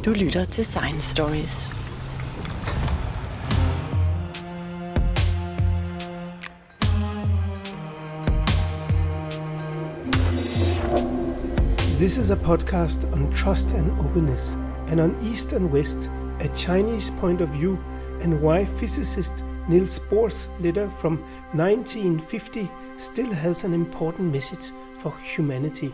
Du lytter til Science Stories. This is a podcast on trust and openness, and on East and West, a Chinese point of view, and why physicist Niels Bohr's letter from 1950 still has an important message for humanity.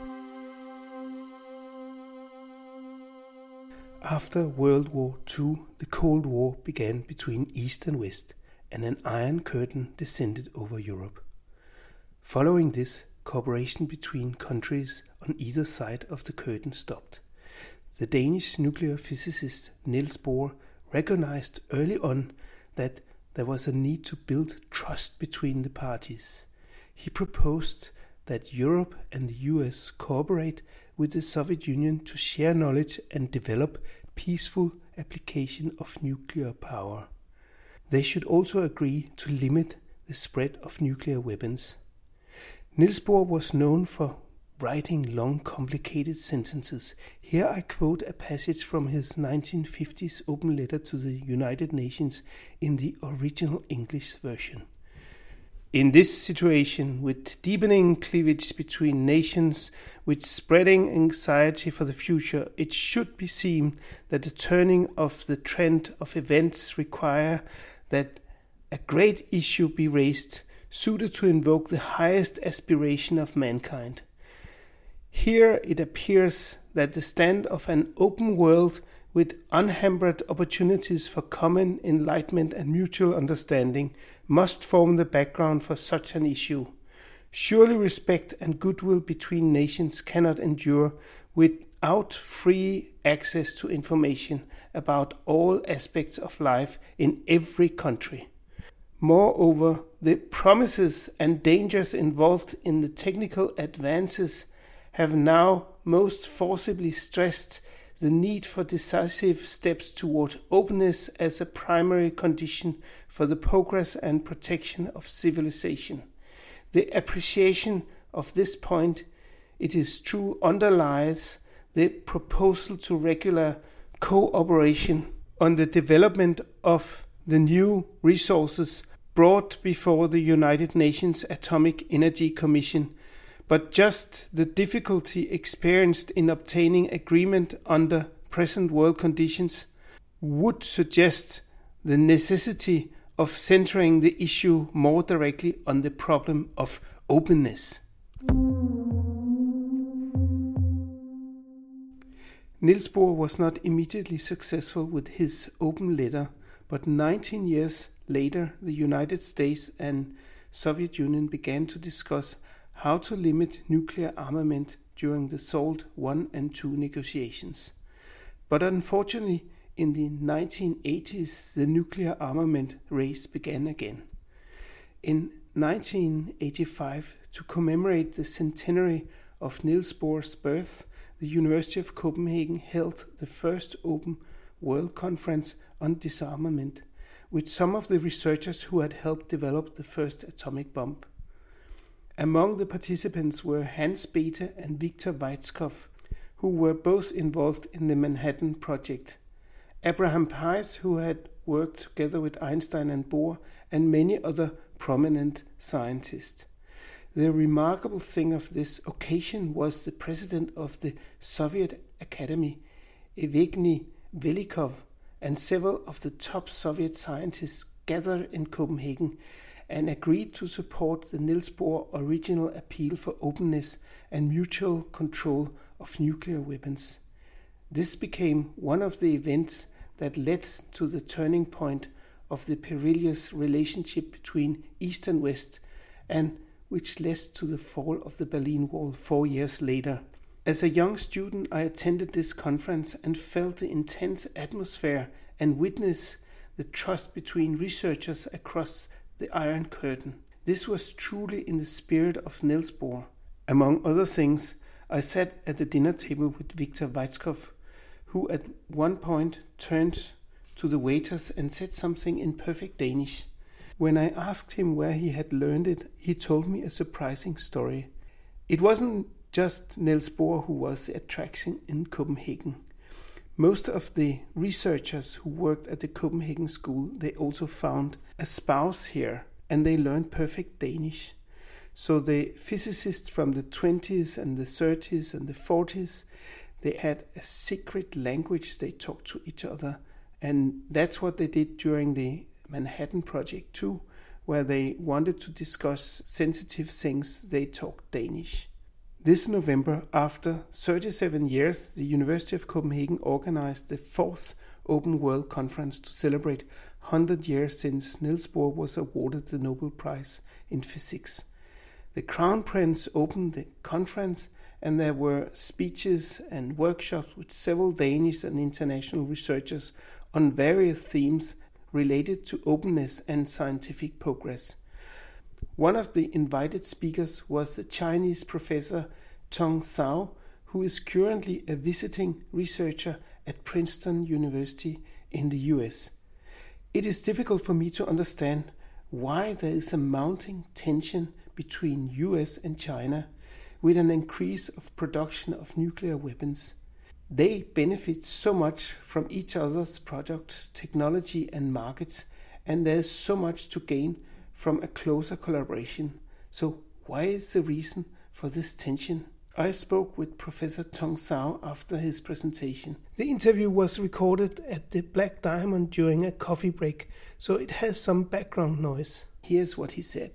After World War II, the Cold War began between East and West, and an Iron Curtain descended over Europe. Following this, cooperation between countries on either side of the curtain stopped. The Danish nuclear physicist Niels Bohr recognized early on that there was a need to build trust between the parties. He proposed that Europe and the US cooperate with the Soviet Union to share knowledge and develop peaceful application of nuclear power. They should also agree to limit the spread of nuclear weapons. Niels Bohr was known for writing long, complicated sentences. Here I quote a passage from his 1950s open letter to the United Nations in the original English version. In this situation, with deepening cleavage between nations, with spreading anxiety for the future, it should be seen that the turning of the trend of events require that a great issue be raised, suited to invoke the highest aspiration of mankind. Here it appears that the stand of an open world with unhampered opportunities for common enlightenment and mutual understanding must form the background for such an issue. Surely respect and goodwill between nations cannot endure without free access to information about all aspects of life in every country. Moreover, the promises and dangers involved in the technical advances have now most forcibly stressed the need for decisive steps toward openness as a primary condition for the progress and protection of civilization. The appreciation of this point, it is true, underlies the proposal to regular cooperation on the development of the new resources brought before the United Nations Atomic Energy Commission, but just the difficulty experienced in obtaining agreement under present world conditions would suggest the necessity of centering the issue more directly on the problem of openness. Niels Bohr was not immediately successful with his open letter, but 19 years later the United States and Soviet Union began to discuss how to limit nuclear armament during the SALT I and II negotiations. But unfortunately, in the 1980s, the nuclear armament race began again. In 1985, to commemorate the centenary of Niels Bohr's birth, the University of Copenhagen held the first open World Conference on Disarmament, with some of the researchers who had helped develop the first atomic bomb. Among the participants were Hans Bethe and Victor Weizsäcker, who were both involved in the Manhattan Project, Abraham Pais, who had worked together with Einstein and Bohr, and many other prominent scientists. The remarkable thing of this occasion was the president of the Soviet Academy, Evgeny Velikov, and several of the top Soviet scientists gathered in Copenhagen and agreed to support the Niels Bohr original appeal for openness and mutual control of nuclear weapons. This became one of the events that led to the turning point of the perilous relationship between East and West, and which led to the fall of the Berlin Wall 4 years later. As a young student, I attended this conference and felt the intense atmosphere and witnessed the trust between researchers across the Iron Curtain. This was truly in the spirit of Niels Bohr. Among other things, I sat at the dinner table with Victor Weizsäcker, who at one point turned to the waiters and said something in perfect Danish. When I asked him where he had learned it, he told me a surprising story. It wasn't just Niels Bohr who was the attraction in Copenhagen. Most of the researchers who worked at the Copenhagen school, they also found a spouse here, and they learned perfect Danish. So the physicists from the 20s and the 30s and the 40s, they had a secret language they talked to each other. And that's what they did during the Manhattan Project too, where they wanted to discuss sensitive things, they talked Danish. This November, after 37 years, the University of Copenhagen organized the 4th Open World Conference to celebrate 100 years since Niels Bohr was awarded the Nobel Prize in Physics. The Crown Prince opened the conference, and there were speeches and workshops with several Danish and international researchers on various themes related to openness and scientific progress. One of the invited speakers was the Chinese professor Tong Zhao, who is currently a visiting researcher at Princeton University in the US. It is difficult for me to understand why there is a mounting tension between US and China with an increase of production of nuclear weapons. They benefit so much from each other's products, technology and markets, and there is so much to gain from a closer collaboration. So why is the reason for this tension? I spoke with Professor Tong Zhao after his presentation. The interview was recorded at the Black Diamond during a coffee break, so it has some background noise. Here's what he said.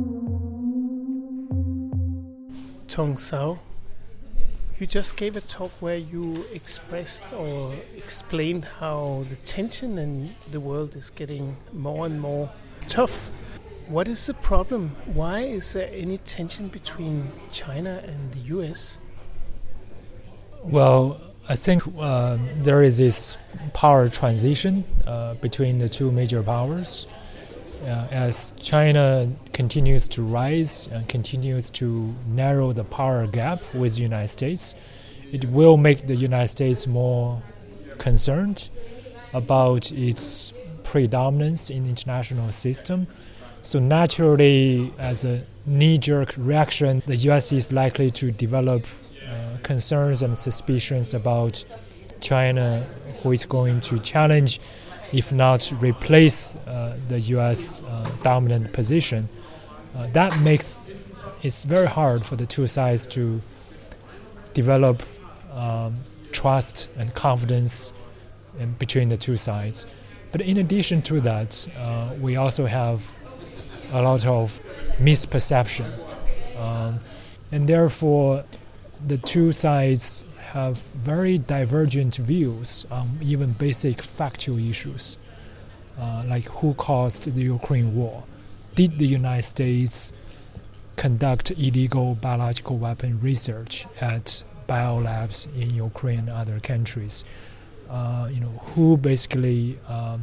Tong Zhao, you just gave a talk where you expressed or explained how the tension in the world is getting more and more tough. What is the problem? Why is there any tension between China and the US? Well, I think there is this power transition between the two major powers. As China continues to rise and continues to narrow the power gap with the United States, it will make the United States more concerned about its predominance in the international system. So naturally, as a knee-jerk reaction, the U.S. is likely to develop concerns and suspicions about China, who is going to challenge, if not replace, the U.S. Dominant position. That makes it very hard for the two sides to develop trust and confidence between the two sides. But in addition to that, we also have a lot of misperception. And therefore, the two sides have very divergent views on even basic factual issues, like who caused the Ukraine war. Did the United States conduct illegal biological weapon research at biolabs in Ukraine and other countries? Who basically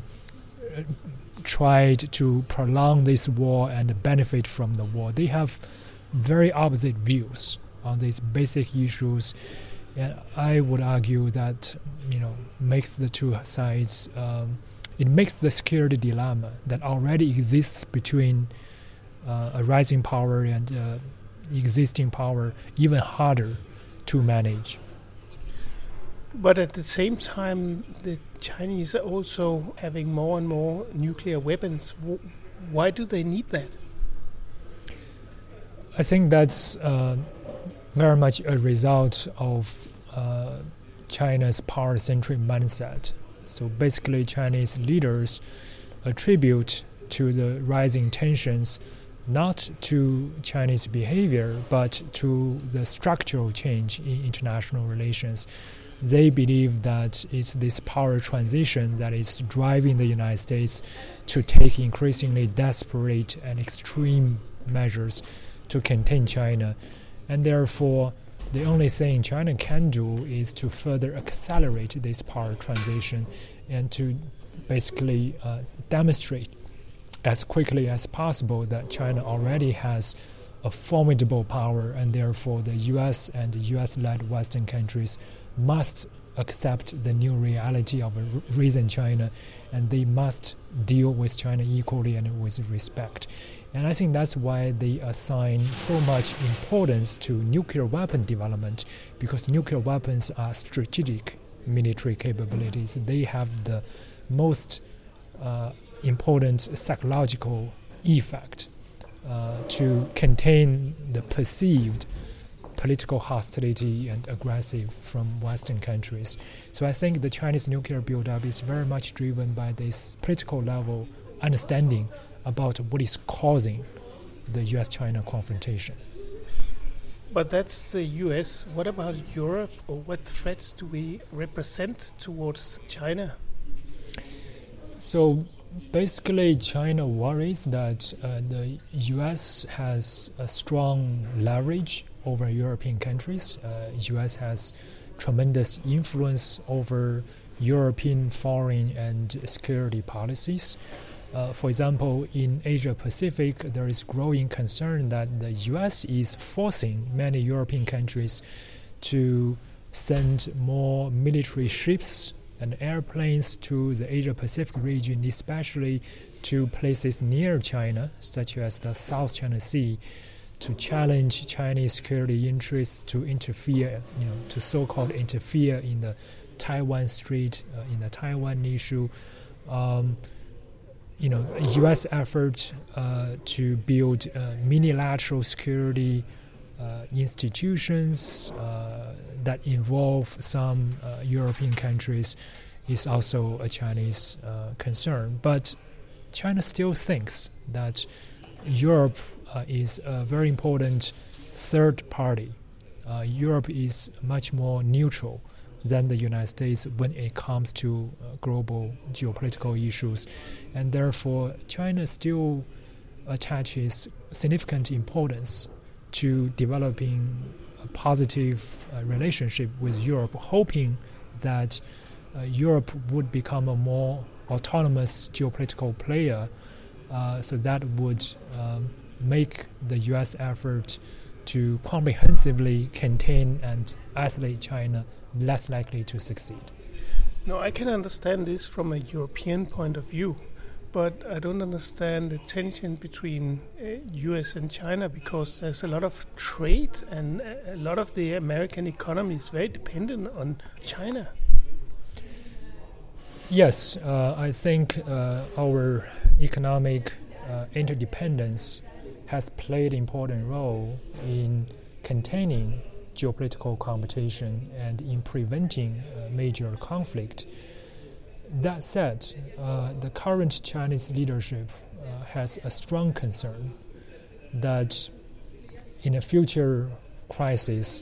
tried to prolong this war and benefit from the war? They have very opposite views on these basic issues, and I would argue that makes the two sides. It makes the security dilemma that already exists between a rising power and existing power even harder to manage. But at the same time, the Chinese are also having more and more nuclear weapons. Why do they need that? I think that's very much a result of China's power-centric mindset. So basically, Chinese leaders attribute to the rising tensions not to Chinese behavior, but to the structural change in international relations. They believe that it's this power transition that is driving the United States to take increasingly desperate and extreme measures to contain China. And therefore, the only thing China can do is to further accelerate this power transition and to basically demonstrate as quickly as possible that China already has a formidable power, and therefore the U.S. and the U.S.-led Western countries must accept the new reality of a risen China, and they must deal with China equally and with respect. And I think that's why they assign so much importance to nuclear weapon development, because nuclear weapons are strategic military capabilities. They have the most important psychological effect to contain the perceived political hostility and aggressive from Western countries. So I think the Chinese nuclear buildup is very much driven by this political level understanding about what is causing the US-China confrontation. But that's the US. What about Europe, or what threats do we represent towards China? So basically, China worries that the US has a strong leverage over European countries. US has tremendous influence over European foreign and security policies. For example, in Asia Pacific, there is growing concern that the US is forcing many European countries to send more military ships and airplanes to the Asia Pacific region, especially to places near China, such as the South China Sea, to challenge Chinese security interests, to interfere, to so-called interfere in the Taiwan Strait, in the Taiwan issue. U.S. effort to build unilateral security institutions that involve some European countries is also a Chinese concern. But China still thinks that Europe is a very important third party. Europe is much more neutral than the United States when it comes to global geopolitical issues. And therefore, China still attaches significant importance to developing a positive relationship with Europe, hoping that Europe would become a more autonomous geopolitical player, so that would make the U.S. effort to comprehensively contain and isolate China less likely to succeed. No, I can understand this from a European point of view, but I don't understand the tension between US and China, because there's a lot of trade and a lot of the American economy is very dependent on China. Yes, I think our economic interdependence has played an important role in containing geopolitical competition and in preventing major conflict. That said, the current Chinese leadership has a strong concern that in a future crisis,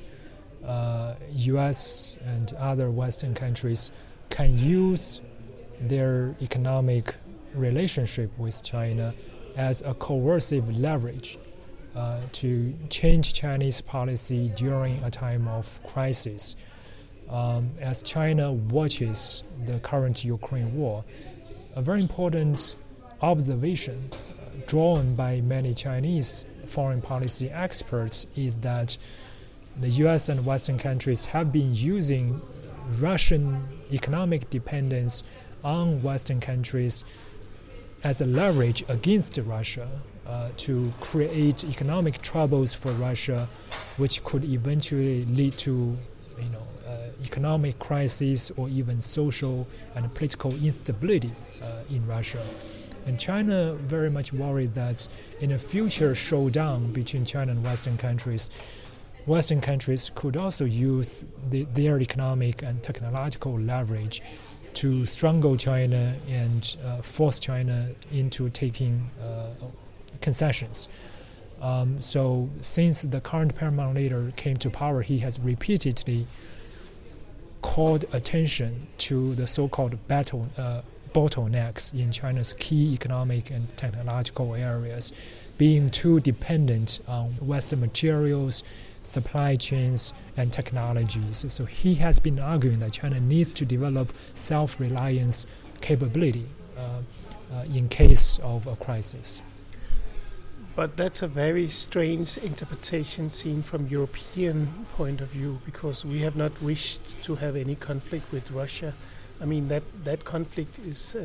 U.S. and other Western countries can use their economic relationship with China as a coercive leverage to change Chinese policy during a time of crisis. As China watches the current Ukraine war, a very important observation drawn by many Chinese foreign policy experts is that the US and Western countries have been using Russian economic dependence on Western countries as a leverage against Russia to create economic troubles for Russia, which could eventually lead to economic crisis or even social and political instability in Russia. And China very much worried that in a future showdown between China and Western countries could also use their economic and technological leverage to strangle China and force China into taking concessions. So since the current paramount leader came to power, he has repeatedly called attention to the so-called bottlenecks in China's key economic and technological areas, being too dependent on Western materials, supply chains, and technologies. So he has been arguing that China needs to develop self-reliance capability in case of a crisis. But that's a very strange interpretation seen from European point of view, because we have not wished to have any conflict with Russia. I mean, that conflict is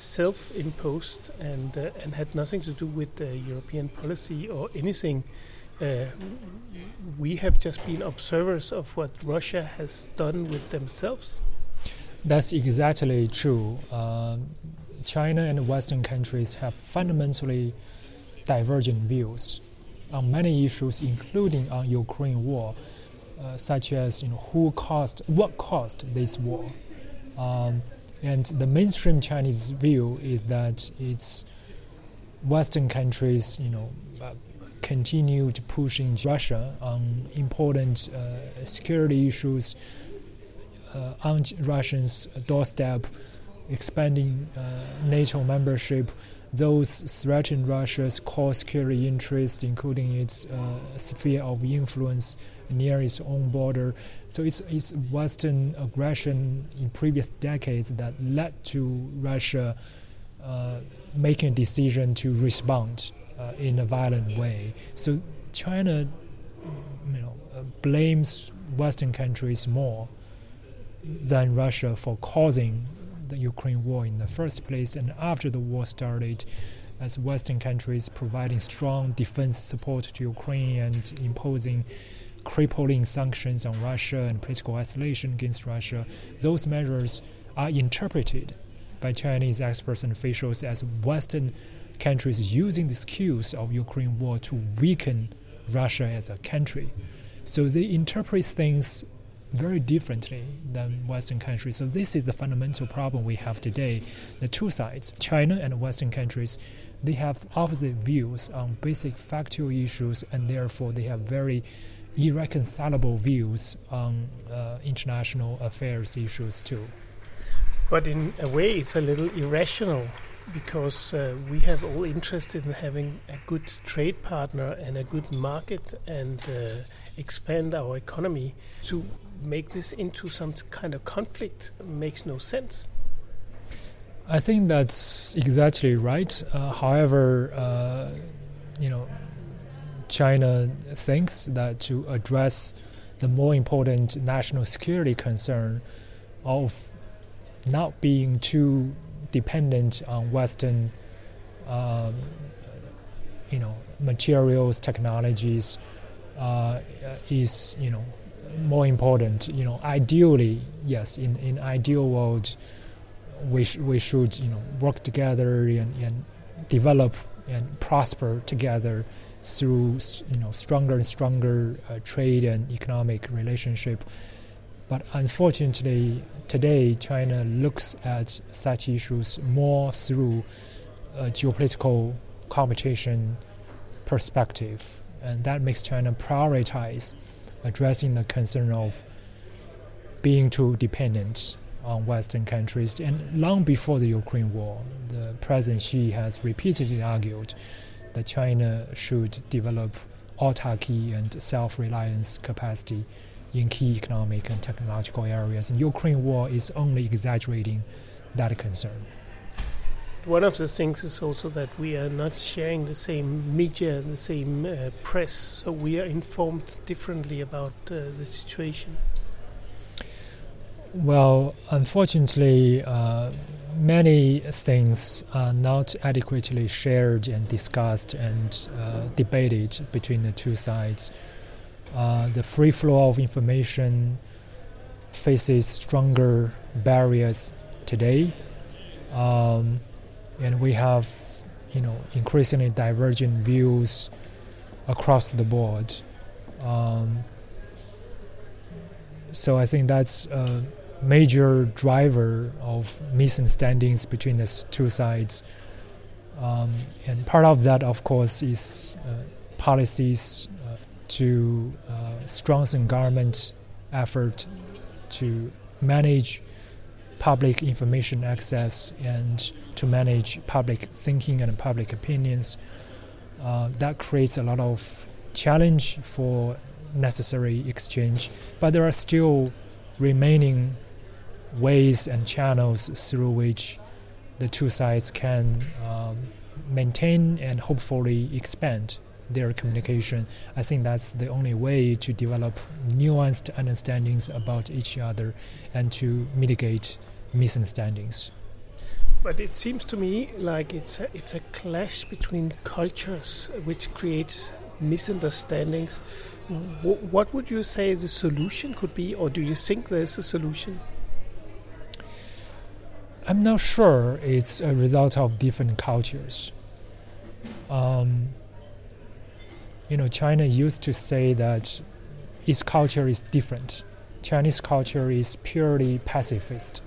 self-imposed and had nothing to do with European policy or anything we have just been observers of what Russia has done with themselves? That's exactly true. China and Western countries have fundamentally divergent views on many issues, including on Ukraine war, such as what caused this war. And the mainstream Chinese view is that it's Western countries, continued pushing Russia on important security issues on Russia's doorstep, expanding NATO membership. Those threaten Russia's core security interests, including its sphere of influence near its own border. So it's Western aggression in previous decades that led to Russia making a decision to respond in a violent way. So China, blames Western countries more than Russia for causing the Ukraine war in the first place. And after the war started, as Western countries providing strong defense support to Ukraine and imposing crippling sanctions on Russia and political isolation against Russia, those measures are interpreted by Chinese experts and officials as Western countries using the excuse of Ukraine war to weaken Russia as a country. So they interpret things very differently than Western countries. So this is the fundamental problem we have today. The two sides, China and Western countries, they have opposite views on basic factual issues, and therefore they have very irreconcilable views on international affairs issues too. But in a way it's a little irrational, because we have all interest in having a good trade partner and a good market and expand our economy. To make this into some kind of conflict makes no sense. I think that's exactly right. However, China thinks that to address the more important national security concern of not being too dependent on Western, materials, technologies, is more important. Ideally, yes, in ideal world, we should work together and develop and prosper together through stronger and stronger trade and economic relationship. But unfortunately, today China looks at such issues more through a geopolitical competition perspective, and that makes China prioritize addressing the concern of being too dependent on Western countries. And long before the Ukraine war, the President Xi has repeatedly argued that China should develop autarky and self-reliance capacity in key economic and technological areas. And Ukraine war is only exaggerating that concern. One of the things is also that we are not sharing the same media, the same press, so we are informed differently about the situation. Well, unfortunately, many things are not adequately shared and discussed and debated between the two sides. The free flow of information faces stronger barriers today, and we have, increasingly divergent views across the board. So I think that's a major driver of misunderstandings between the two sides. And part of that, of course, is policies to strengthen government effort to manage public information access and to manage public thinking and public opinions. That creates a lot of challenge for necessary exchange, but there are still remaining ways and channels through which the two sides can maintain and hopefully expand their communication. I think that's the only way to develop nuanced understandings about each other and to mitigate misunderstandings. But it seems to me like it's a clash between cultures, which creates misunderstandings. What would you say the solution could be, or do you think there's a solution? I'm not sure it's a result of different cultures. China used to say that its culture is different. Chinese culture is purely pacifist.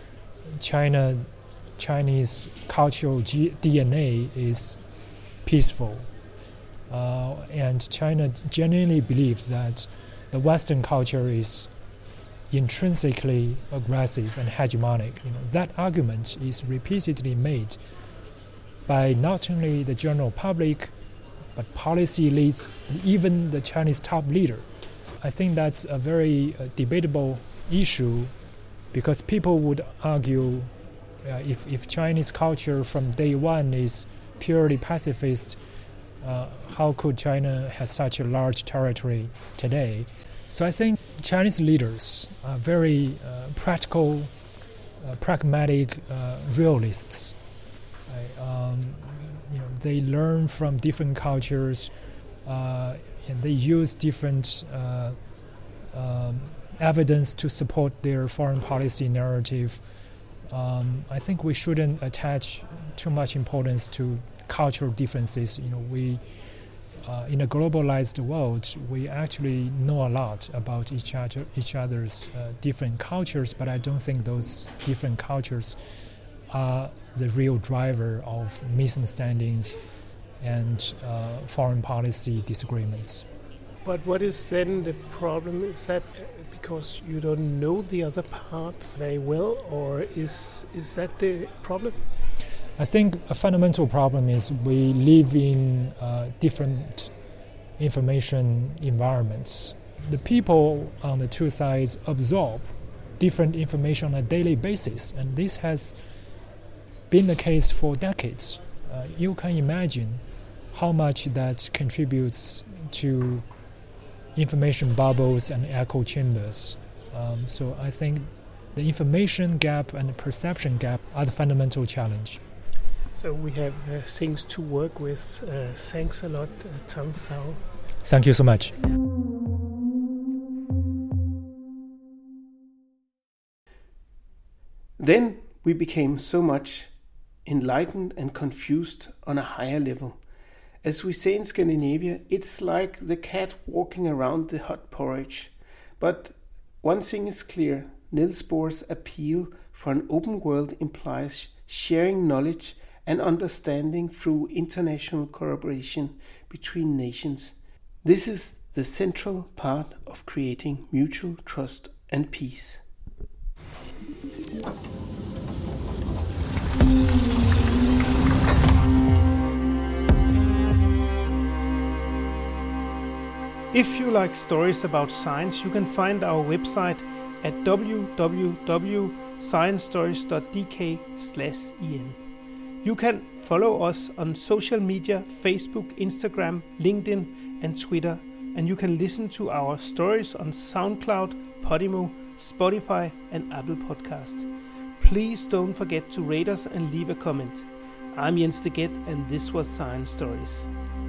Chinese cultural DNA is peaceful. And China genuinely believes that the Western culture is intrinsically aggressive and hegemonic. That argument is repeatedly made by not only the general public, but policy elites, even the Chinese top leader. I think that's a very debatable issue, because people would argue if Chinese culture from day one is purely pacifist, how could China have such a large territory today? So I think Chinese leaders are very practical, pragmatic realists. They learn from different cultures, and they use different evidence to support their foreign policy narrative. I think we shouldn't attach too much importance to cultural differences. We in a globalized world, we actually know a lot about each other's different cultures, but I don't think those different cultures are the real driver of misunderstandings and foreign policy disagreements. But what is then the problem? Is that because you don't know the other parts very well, or is that the problem? I think a fundamental problem is we live in different information environments. The people on the two sides absorb different information on a daily basis, and this has been the case for decades. You can imagine how much that contributes to information bubbles and echo chambers. So I think the information gap and the perception gap are the fundamental challenge. So we have things to work with. Thanks a lot, Tang Zhao. Thank you so much. Then we became so much enlightened and confused on a higher level. As we say in Scandinavia, it's like the cat walking around the hot porridge. But one thing is clear, Niels Bohr's appeal for an open world implies sharing knowledge and understanding through international collaboration between nations. This is the central part of creating mutual trust and peace. If you like stories about science, you can find our website at www.sciencestories.dk/en. You can follow us on social media, Facebook, Instagram, LinkedIn and Twitter, and you can listen to our stories on SoundCloud, Podimo, Spotify and Apple Podcast. Please don't forget to rate us and leave a comment. I'm Jens de Get, and this was Science Stories.